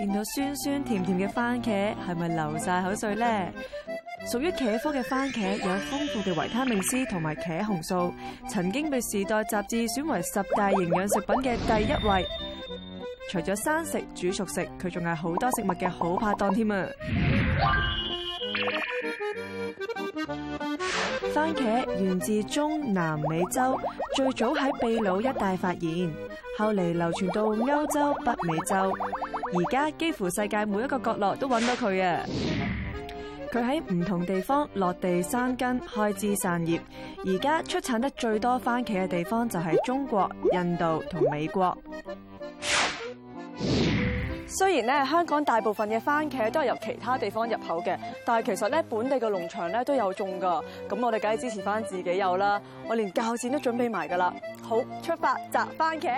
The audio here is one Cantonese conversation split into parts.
見到酸酸甜甜嘅番茄，係咪流晒口水咧？屬於茄科嘅番茄有豐富嘅維他命 C 同埋茄紅素，曾經被《時代》雜誌選為10大營養食品嘅第1位。除咗生食、煮熟食，佢仲係好多食物嘅好拍檔添啊！番茄源自中南美洲，最早喺秘魯一帶發現，後嚟流傳到歐洲、北美洲，而家幾乎世界每一個角落都揾到佢啊！佢喺唔同地方落地生根，開枝散葉。而家出產得最多番茄嘅地方就係中國、印度同美國。 雖然咧香港大部分嘅番茄都係由其他地方入口嘅，但係其實咧本地嘅農場咧都有種㗎。咁我哋梗係支持翻自己有啦。我連鉸剪都準備埋㗎啦。好，出發摘番茄。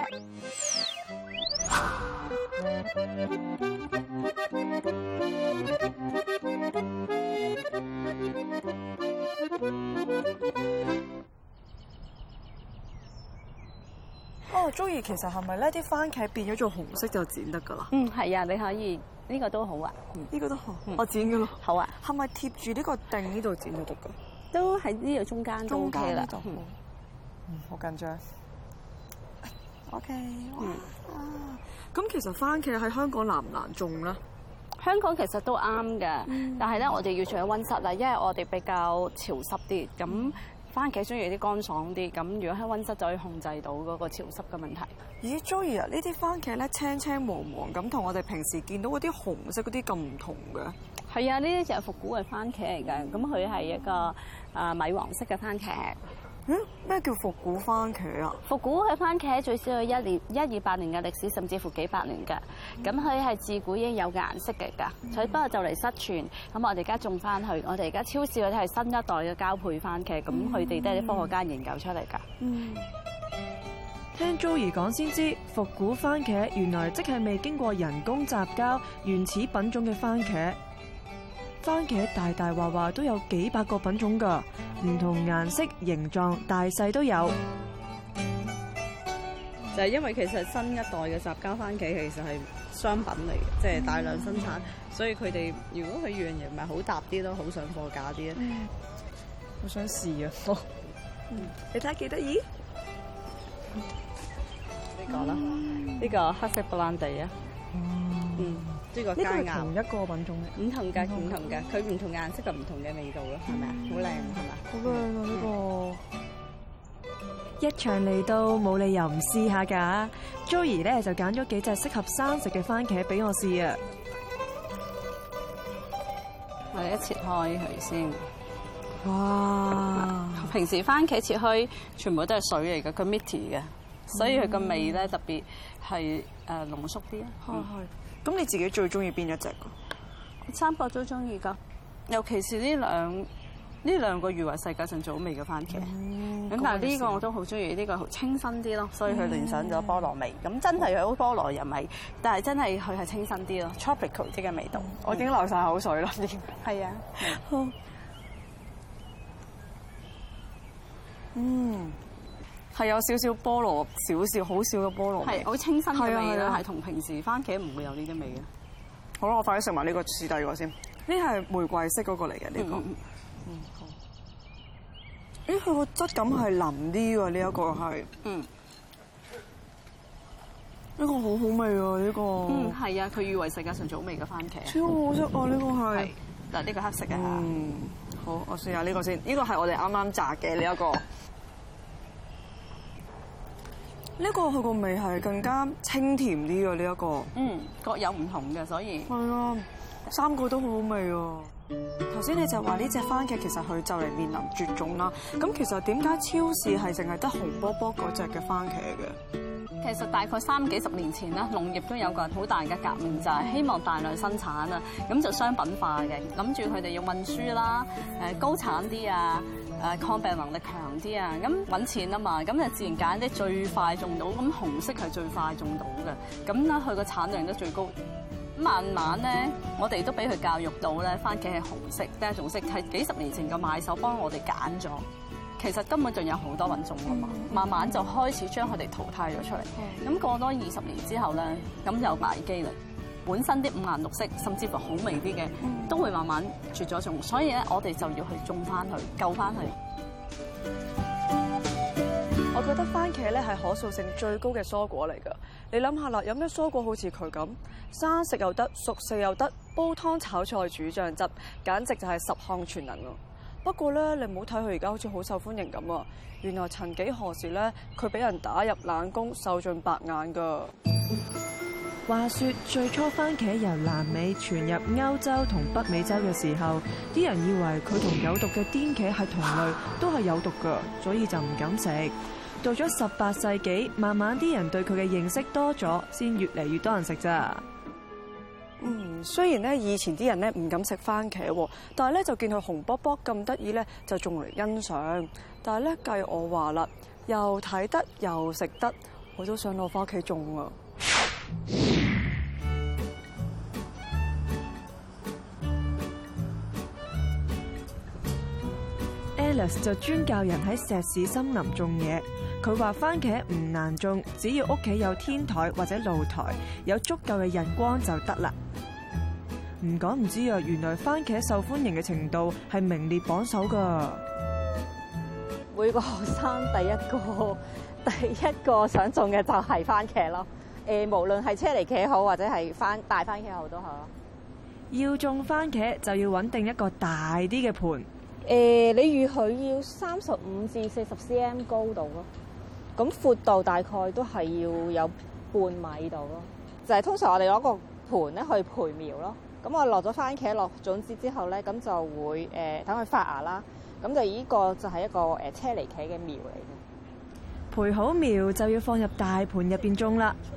哦，Joey，其實係咪咧啲番茄變咗做紅色就剪得㗎啦？ 係啊，你可以呢個都好啊。 呢個都好，我剪㗎咯。 好啊。 係咪貼住呢個釘呢度剪就得㗎？ 都喺呢度中間都 OK 啦。 好緊張。OK。咁其實番茄喺香港難唔難種咧？ 香港其實都啱嘅，但係咧我哋要住喺溫室啦，因為我哋比較潮濕啲，咁番茄中意啲乾爽啲，咁如果喺溫室就可以控制到嗰個潮濕嘅問題。 咦 ，Joey 啊，呢啲番茄咧青青黃黃咁，同我哋平時見到嗰啲紅色嗰啲咁唔同嘅。 係啊，呢啲就係復古嘅番茄嚟嘅，咁佢係一個米黃色嘅番茄。 咩叫復古番茄啊？ 復古嘅番茄最少有100-200年嘅歷史，甚至乎幾百年嘅。咁佢係自古已經有嘅顏色嚟㗎，所以不過就嚟失傳。咁我哋而家種翻去，我哋而家超市嗰啲係新一代嘅交配番茄，咁佢哋都係啲科學家研究出嚟㗎。 聽 Joey 講先知，復古番茄原來即係未經過人工雜交、原始品種嘅番茄。番茄大大話話都有幾百個品種㗎，唔同顏色、形狀、大細都有。 就係因為其實新一代嘅雜交番茄其實係商品嚟嘅，即係大量生產，所以佢哋如果佢樣嘢唔係好搭啲，都好上貨價啲咧。 我想試啊！ 你睇下幾得意？ 呢個啦，呢個黑色布蘭地啊。呢個佳肴同一個品種嘅， 唔同嘅，佢唔同顏色就唔同嘅味道咯，係咪啊？好靚係咪？ 好靚啊！呢個一場嚟到，冇理由唔試下㗎。Joey 咧就揀咗幾隻適合生食嘅番茄俾我試啊！ 我哋一切開佢先。 哇！ 平時番茄切開全部都係水嚟嘅，佢 meaty 嘅，所以佢個味咧特別係濃縮啲啊。 咁你自己最中意邊一隻㗎？ 三個都中意㗎，尤其是呢兩個譽為世界上最好味嘅番茄。咁但係呢個我都好中意，呢個好清新啲咯，所以佢聯想咗菠蘿味。咁真係有菠蘿又味，但係真係佢係清新啲咯 ，tropical 啲嘅味道。 我已經流晒口水啦，已經。 係啊。 係有少少菠蘿，好少嘅菠蘿味， 係好清新嘅味啦，係同平時番茄唔會有呢啲味嘅。 好啦，我快啲食埋呢個試第二個先。呢係玫瑰色嗰個嚟嘅呢個。好。咦，佢個質感係腍啲喎，呢一個係。呢個好好味喎，呢個。 係啊，佢譽為世界上最好味嘅番茄。 超好食啊！呢個係。 嗱，呢個黑色嘅嚇。 好，我試下呢個先。呢個係我哋啱啱炸嘅呢一個。呢個佢個味係更加清甜啲嘅呢一個。 各有唔同嘅，所以係啊，三個都好好味啊！頭先你就話呢隻番茄其實佢就嚟面臨絕種啦。咁其實點解超市係淨係得紅波波嗰隻嘅番茄嘅？ 其實大概30幾10年前啦，農業都有個好大嘅革命，就係希望大量生產啊，咁就商品化嘅，諗住佢哋要運輸啦，高產啲啊，抗病能力強啲啊，咁揾錢啊嘛，咁就自然揀啲最快種到，咁紅色係最快種到嘅，咁咧佢個產量都最高。慢慢咧，我哋都俾佢教育到咧，番茄係紅色，第一種色係幾十年前個買手幫我哋揀咗。其實根本仲有好多品種㗎嘛，慢慢就開始將佢哋淘汰咗出嚟。咁過多20年之後咧，咁就危機啦。 本身啲五顏六色，甚至乎好味啲嘅，都會慢慢絕咗種。所以咧，我哋就要去種翻佢，救翻佢。 我覺得番茄咧係可塑性最高嘅蔬果嚟㗎。你諗下啦，有咩蔬果好似佢咁，生食又得，熟食又得，煲湯炒菜煮醬汁，簡直就係十項全能啊！不過咧，你唔好睇佢而家好似好受歡迎咁啊！原來曾幾何時咧，佢俾人打入冷宮，受盡白眼㗎。 話說最初番茄由南美傳入歐洲同北美洲嘅時候，啲人以為佢同有毒嘅顛茄係同類，都係有毒㗎，所以就唔敢食。到咗18世紀，慢慢啲人對佢嘅認識多咗，先越嚟越多人食咋。 雖然咧以前啲人咧唔敢食番茄，但係咧就見佢紅卜卜咁得意咧，就種嚟欣賞。但係咧計我話啦，又睇得又食得，我都想攞返屋企種啊！ Alice 就專教人喺石屎森林種嘢。佢話番茄唔難種，只要屋企有天台或者露台，有足夠嘅日光就得啦。唔講唔知啊，原來番茄受歡迎嘅程度係名列榜首㗎。 每個學生第一個想種嘅就係番茄咯。無論係車厘茄好，或者係大番茄好都好咯。 要種番茄就要揾定一個大啲嘅盤。 你預佢要35至40 cm 高度咯。咁闊度大概都係要有半米度咯。就係通常我哋攞個盤咧去培苗咯。咁我落咗番茄落種子之後咧，咁就會等佢發芽啦。咁就呢個就係一個車厘茄嘅苗嚟嘅。 培好苗就要放入大盤入邊種啦。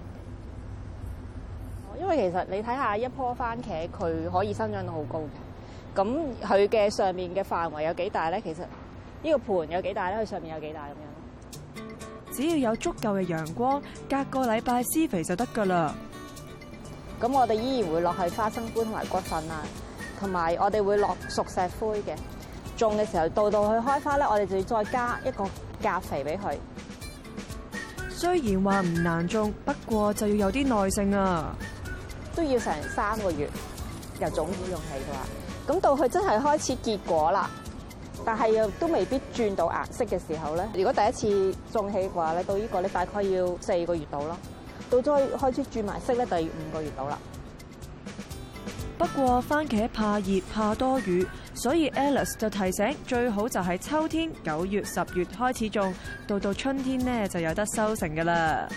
因為其實你睇下一棵番茄，佢可以生長到好高嘅。咁佢嘅上面嘅範圍有幾大咧？其實呢個盤有幾大咧？佢上面有幾大咁樣？ 只要有足夠嘅陽光，隔個禮拜施肥就得㗎啦。 咁我哋依然會落去花生灰同埋骨粉啊，同埋我哋會落熟石灰嘅。種嘅時候到佢開花咧，我哋就要再加一個鉀肥俾佢。 雖然話唔難種，不過就要有啲耐性啊。 都要成3個月由種子種起嘅話，咁到佢真係開始結果啦，但係又都未必轉到顏色嘅時候咧。如果第一次種起嘅話咧，到呢個咧大概要4個月到咯。到再開始轉埋色咧，就要5個月到啦。 不過番茄怕熱怕多雨，所以 Alice 就提醒最好就係秋天9月10月開始種，到春天呢就有得收成㗎啦。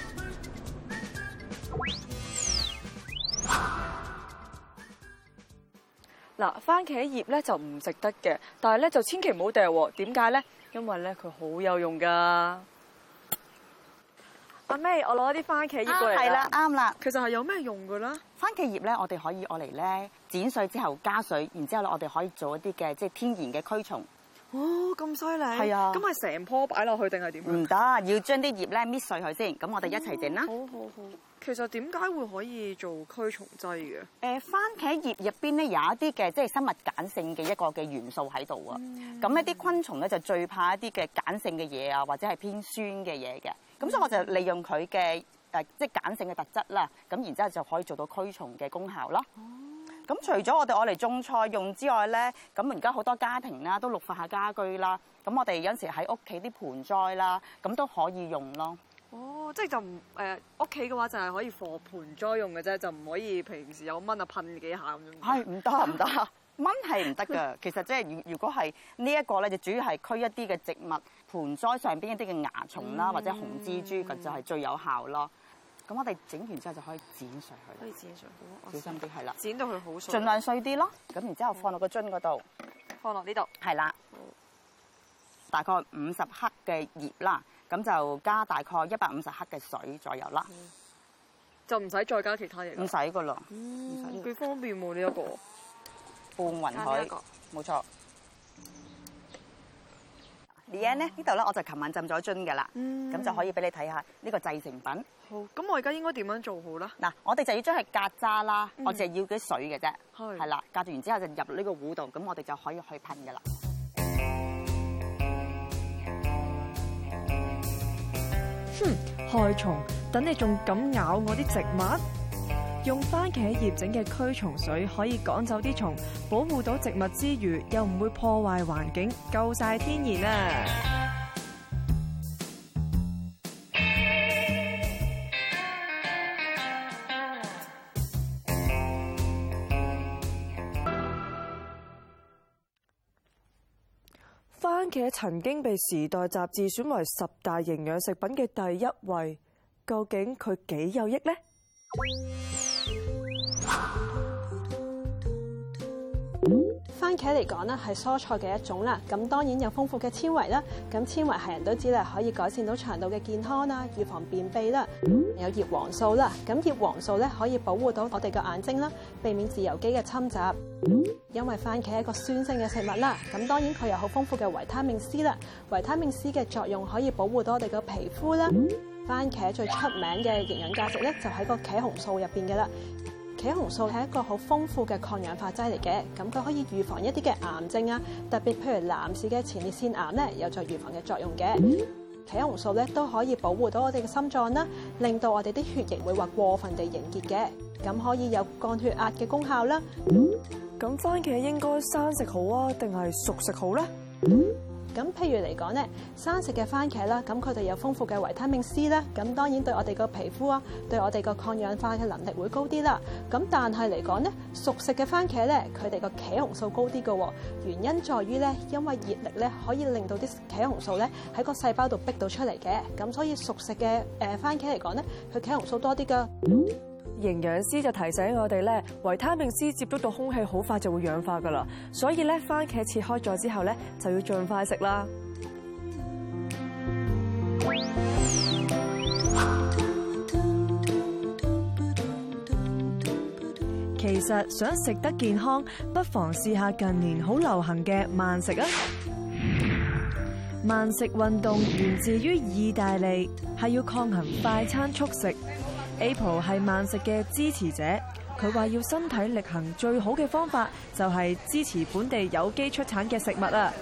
嗱，番茄葉咧就唔食得嘅，但係咧就千祈唔好掉喎。點解咧？因為咧佢好有用㗎。阿 May，我攞啲番茄葉過嚟啦。 係啦，啱啦。 其實係有咩用㗎啦？ 番茄葉咧，我哋可以攞嚟咧剪碎之後加水，然之後咧我哋可以做一啲嘅即係天然嘅驅蟲。 哦，咁犀利！ 係啊。 咁係成棵擺落去定係點？ 唔得，要將啲葉咧搣碎佢先。咁我哋一齊整啦。 好好好。其實點解會可以做驅蟲劑嘅？ 番茄葉入邊咧有一啲嘅即係生物鹼性嘅一個嘅元素喺度啊。咁一啲昆蟲咧就最怕一啲嘅鹼性嘅嘢啊，或者係偏酸嘅嘢嘅。咁所以我就利用佢嘅即係鹼性嘅特質啦。咁然之後就可以做到驅蟲嘅功效咯。咁除咗我哋攞嚟種菜用之外咧，咁而家好多家庭啦都綠化下家居啦。咁我哋有陣時喺屋企啲盆栽啦，咁都可以用咯。 哦，即係就唔屋企嘅話就係可以放盆栽用嘅啫，就唔可以平時有蚊啊噴幾下咁樣。 係唔得唔得，蚊係唔得㗎。其實即係如果係呢一個咧，就主要係驅一啲嘅植物盆栽上邊一啲嘅蚜蟲啦，或者紅蜘蛛，咁就係最有效咯。咁我哋整完之後就可以剪碎佢。 可以剪碎，好， 小心啲係啦。 剪到佢好碎。 盡量碎啲咯。咁然之後放落個樽嗰度， 放落呢度。 係啦。大概50克嘅葉啦。咁就加大概150克嘅水左右啦， 就唔使再加其他嘢。 唔使噶啦， 幾方便喎呢一個。 拌勻佢，冇錯。呢度咧我就琴晚浸咗樽噶啦，咁就可以俾你睇下呢個製成品。 好，咁我而家應該點樣做好啦？ 嗱，我哋就要將佢隔渣啦，我淨係要啲水嘅啫， 係啦，隔住完之後就入呢個壺度，咁我哋就可以去噴噶啦。 害蟲，等你仲敢咬我啲植物？ 用番茄葉整嘅驅蟲水可以趕走啲蟲，保護到植物之餘，又唔會破壞環境，夠晒天然啊！番茄曾經被《時代》雜誌選為10大營養食品嘅第1位，究竟佢幾有益呢？ 番茄嚟講咧係蔬菜嘅一種啦，咁當然有豐富嘅纖維啦，咁纖維係人都知啦，可以改善到腸道嘅健康啦，預防便秘啦。有葉黃素啦，咁葉黃素咧可以保護到我哋嘅眼睛啦，避免自由基嘅侵襲。因為番茄係一個酸性嘅食物啦，咁當然佢有好豐富嘅維他命 C 啦，維他命 C 嘅作用可以保護到我哋嘅皮膚啦。番茄最出名嘅營養價值咧就喺個茄紅素入邊嘅啦。茄紅素係一個好豐富嘅抗氧化劑嚟嘅，咁佢可以預防一啲嘅癌症啊，特別譬如男士嘅前列腺癌咧，有助預防嘅作用嘅。茄紅素咧都可以保護到我哋嘅心臟啦，令到我哋啲血液唔會話過分地凝結嘅，咁可以有降血壓嘅功效啦。 咁番茄應該生食好啊，定係熟食好咧？ 咁譬如嚟講咧，生食嘅番茄啦，咁佢哋有豐富嘅維他命 C 啦，咁當然對我哋個皮膚啊，對我哋個抗氧化嘅能力會高啲啦。咁但係嚟講咧，熟食嘅番茄咧，佢哋個茄紅素高啲嘅，原因在於咧，因為熱力咧可以令到啲茄紅素咧喺個細胞度逼到出嚟嘅，咁所以熟食嘅番茄嚟講咧，佢茄紅素多啲噶。 營養師就提醒我哋咧，維他命 C 接觸到空氣好快就會氧化噶啦，所以咧番茄切開咗之後咧就要盡快食啦。其實想食得健康，不妨試下近年好流行嘅慢食啊！慢食運動源自於意大利，係要抗衡快餐速食。April 係慢食嘅支持者，佢話要身體力行最好嘅方法就係支持本地有機出產嘅食物啊！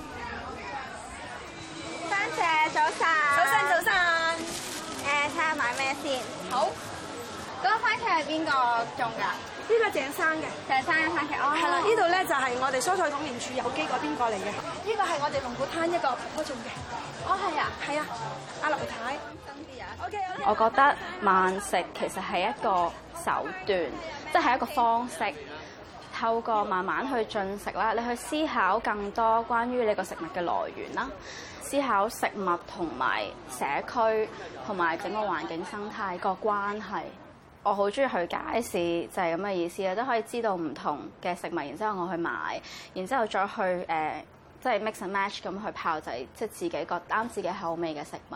番茄早晨，早晨，睇下買咩先？好，嗰個番茄係邊個種㗎？ 呢個鄭生嘅， 鄭生嘅番茄，哦， 係啦，呢度咧就係我哋蔬菜統營處有機嗰邊過嚟嘅，呢個係我哋龍鼓灘一個婆婆種嘅， 哦係啊， 係啊，阿劉太。 我覺得慢食其實係一個手段，即係一個方式，透過慢慢去進食啦，你去思考更多關於你個食物嘅來源啦，思考食物同埋社區同埋整個環境生態個關係。我好中意去街市，就係咁嘅意思啦，都可以知道唔同嘅食物，然之後我去買，然之後再去即係 mix and match 咁去炮製，即係自己覺啱自己口味嘅食物。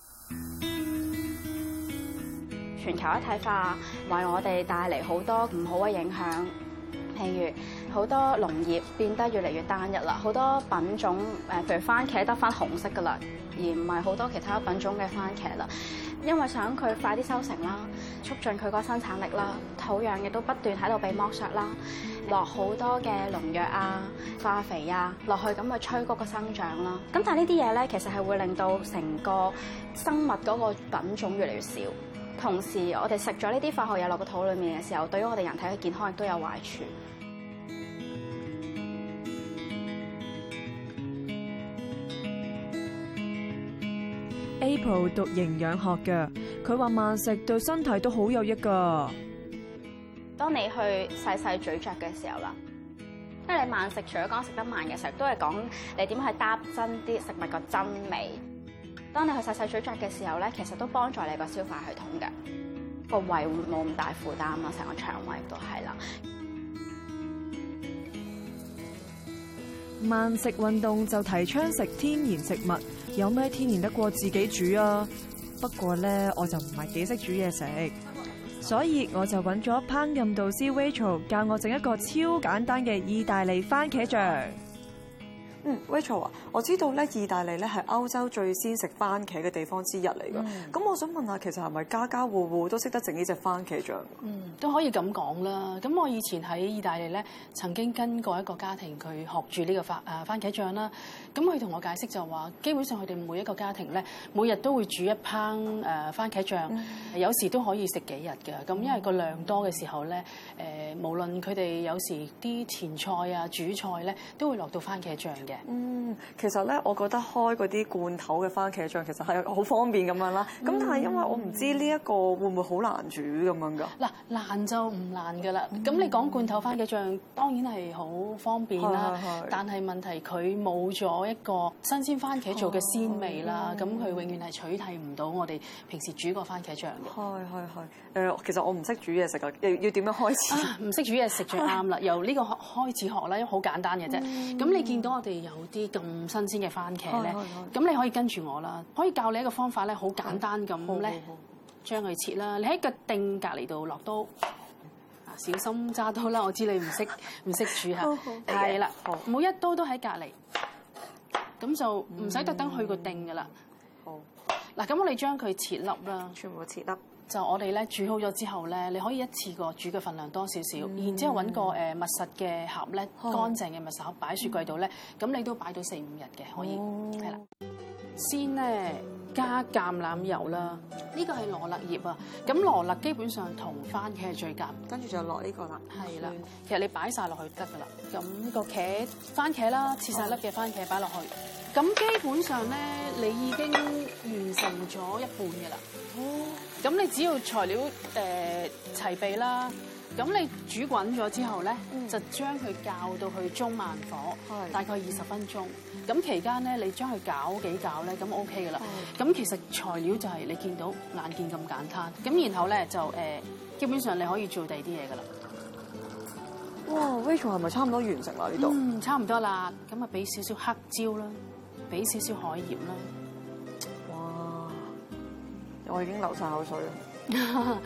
全球一體化為我哋帶嚟好多唔好嘅影響，譬如好多農業變得越嚟越單一啦，好多品種譬如番茄得返紅色㗎啦，而唔係好多其他品種嘅番茄啦。因為想佢快啲收成啦，促進佢個生產力啦，土壤亦都不斷喺度被剝削啦，落好多嘅農藥啊、化肥啊落去，咁去催谷個生長啦。咁但係呢啲嘢咧，其實係會令到成個生物嗰個品種越嚟越少。同時，我哋食咗呢啲化學嘢落個肚裡面嘅時候，對於我哋人體嘅健康亦都有壞處。 April 讀營養學嘅，佢話慢食對身體都好有益㗎。 當你去細細咀嚼嘅時候啦，因為你慢食除咗講食得慢嘅時候，都係講你點去搭真啲食物個真味。當你去細細咀嚼嘅時候咧，其實都幫助你個消化系統嘅，個胃會冇咁大負擔啦，成個腸胃都係啦。 慢食運動就提倡食天然食物，有咩天然得過自己煮啊？不過咧，我就唔係幾識煮嘢食，所以我就揾咗烹飪導師 Rachel 教我整一個超簡單嘅意大利番茄醬。 Rachel 啊，我知道咧，意大利咧係歐洲最先食番茄嘅地方之一嚟㗎。咁我想問下，其實係咪家家戶戶都識得整呢隻番茄醬？ 都可以咁講啦。咁我以前喺意大利咧，曾經跟過一個家庭，佢學住呢個番茄醬啦。咁佢同我解釋就話，基本上佢哋每一個家庭咧，每日都會煮一烹番茄醬，有時都可以食幾日㗎。咁因為個量多嘅時候咧，無論佢哋有時啲前菜啊、主菜咧，都會落到番茄醬嘅。 其實咧，我覺得開嗰啲罐頭嘅番茄醬其實係好方便咁樣啦。咁但係因為我唔知呢一個會唔會好難煮咁樣㗎？ 嗱，難就唔難㗎啦。咁你講罐頭番茄醬當然係好方便啦，但係問題佢冇咗一個新鮮番茄做嘅鮮味啦。咁佢永遠係取替唔到我哋平時煮個番茄醬嘅。 其實我唔識煮嘢食㗎，要點樣開始？ 唔識煮嘢食最啱啦，由呢個開始學啦，因為好簡單嘅啫。咁你見到我哋有啲咁新鮮嘅番茄咧，咁你可以跟住我啦，可以教你一個方法咧，好簡單咁咧，將佢切啦。你喺個定隔離度落刀，小心揸刀啦。我知你唔識煮嚇，係啦，每一刀都喺隔離，咁就唔使特登去個定噶啦。好，嗱，咁我哋將佢切粒啦， 全部切粒。 就我哋咧煮好咗之後咧，你可以一次過煮嘅份量多少少，然之後揾個密實嘅盒咧，乾淨嘅密實盒擺喺雪櫃度咧，咁你都擺到4-5日嘅可以，係啦。先咧加橄欖油啦，呢個係羅勒葉啊，咁羅勒基本上同番茄係最夾， 跟住就落呢個啦。 係啦，其實你擺晒落去得噶啦。咁個番茄啦，切晒粒嘅番茄擺落去，咁基本上咧你已經完成咗一半嘅啦。咁你只要材料齊備啦，咁你煮滾咗之後咧，就將佢校到去中慢火，大概20分鐘。咁期間咧，你將佢攪幾攪咧，咁 OK 噶啦。咁其實材料就係你見到眼見咁簡單。咁然後咧就基本上你可以做第二啲嘢噶啦。 哇 ，Rachel 係咪差唔多完成啦？呢度差唔多啦。咁啊，俾少少黑椒啦，俾少少海鹽啦。 我已經流晒口水啦，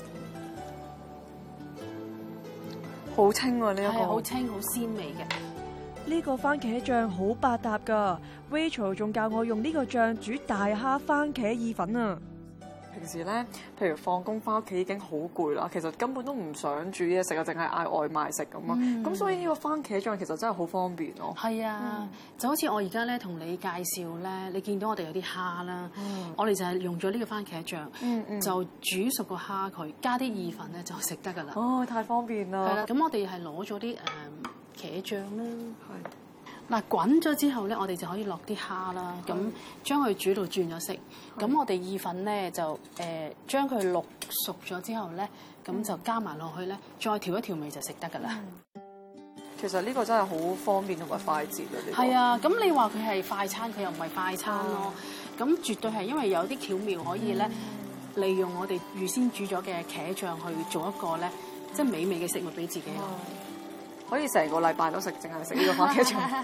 好清喎呢一個， 好清好鮮味嘅。 呢個番茄醬好百搭㗎 ，Rachel 仲教我用呢個醬煮大蝦番茄意粉啊！平時咧，譬如放工翻屋企已經好攰啦，其實根本都唔想煮嘢食啊，淨係嗌外賣食咁啊。咁所以呢個番茄醬其實真係好方便咯。 係啊，就好似我而家咧同你介紹咧，你見到我哋有啲蝦啦，我哋就係用咗呢個番茄醬，就煮熟個蝦佢，加啲意粉咧就食得㗎啦。 哦，太方便啦！ 係啦，咁我哋係攞咗啲茄醬啦。嗱，滾咗之後咧，我哋就可以落啲蝦啦，咁將佢煮到轉咗色。咁我哋意粉咧就將佢淥熟咗之後咧，咁就加埋落去咧，再調一調味就食得㗎啦。 其實呢個真係好方便同埋快捷啊！ 係啊，咁你話佢係快餐，佢又唔係快餐咯。咁絕對係因為有啲巧妙可以咧，利用我哋預先煮咗嘅茄醬去做一個咧，即係美味嘅食物俾自己。 可以成個禮拜都食，淨係食呢個番茄醬。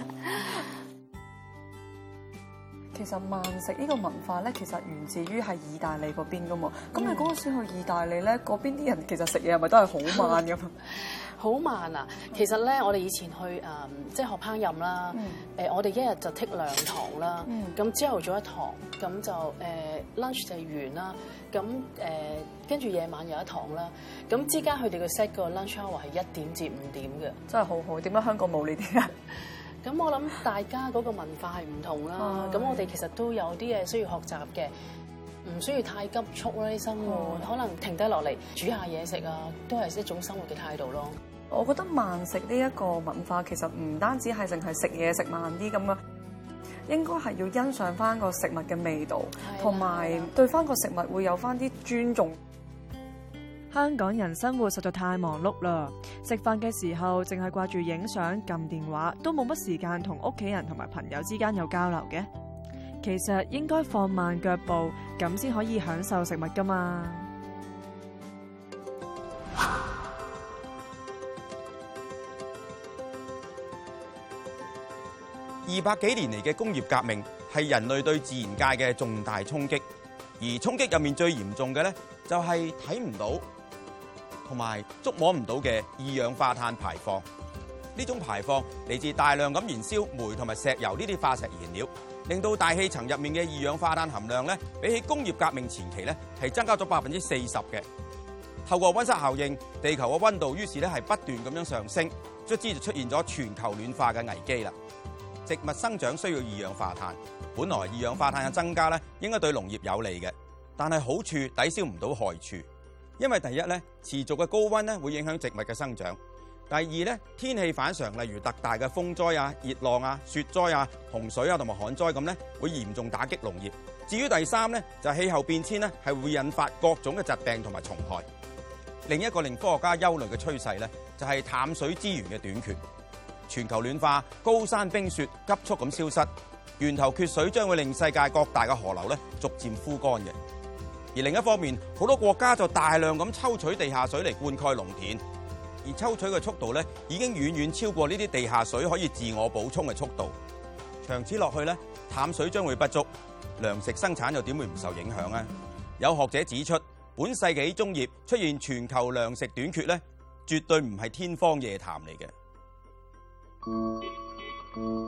其實慢食呢個文化咧，其實源自於係意大利嗰邊噶嘛。咁你嗰陣時去意大利咧，嗰邊啲人其實食嘢係咪都係好慢咁？ 好慢啊！其實咧，我哋以前去即係學烹飪啦。我哋一日就剔2堂啦。咁朝頭早1堂，咁就lunch 就完啦。咁跟住夜晚有1堂啦。咁之間佢哋嘅 set 個 lunch hour 係1點至5點嘅。 真係好好。點解香港冇呢啲啊？ 咁我諗大家嗰個文化係唔同啦。咁我哋其實都有啲嘢需要學習嘅。唔需要太急促啦，啲生活可能停低落嚟煮下嘢食啊，都係一種生活嘅態度咯。 我覺得慢食呢一個文化其實唔單止係淨係食嘢食慢啲咁啊，應該係要欣賞翻個食物嘅味道，同埋對翻個食物會有翻啲尊重。香港人生活實在太忙碌啦，食飯嘅時候淨係掛住影相、撳電話，都冇乜時間同屋企人同埋朋友之間有交流嘅。其實應該放慢腳步，咁先可以享受食物㗎嘛。 200幾年嚟嘅工業革命係人類對自然界嘅重大衝擊，而衝擊入面最嚴重嘅咧，就係睇唔到同埋觸摸唔到嘅二氧化碳排放。 呢種排放嚟自大量咁燃燒煤同埋石油呢啲化石燃料，令到大氣層入面嘅二氧化碳含量咧，比起工業革命前期咧係增加咗40%嘅。透過溫室效應，地球嘅溫度於是咧係不斷咁樣上升，卒之就出現咗全球暖化嘅危機啦。植物生長需要二氧化碳，本來二氧化碳嘅增加咧應該對農業有利嘅，但係好處抵消唔到害處，因為第一咧持續嘅高溫咧會影響植物嘅生長。第二咧，天氣反常，例如特大嘅風災啊、熱浪啊、雪災啊、洪水啊同埋旱災咁咧，會嚴重打擊農業。至於第三咧，就係氣候變遷咧，係會引發各種嘅疾病同埋蟲害。另一個令科學家憂慮嘅趨勢咧，就係淡水資源嘅短缺。全球暖化，高山冰雪急速咁消失，源頭缺水將會令世界各大嘅河流咧逐漸枯乾嘅。而另一方面，好多國家就大量咁抽取地下水嚟灌溉農田。而抽取嘅速度咧，已經遠遠超過呢啲地下水可以自我補充嘅速度。長此落去咧，淡水將會不足，糧食生產又點會唔受影響啊？有學者指出，本世紀中葉出現全球糧食短缺咧，絕對唔係天方夜譚嚟嘅。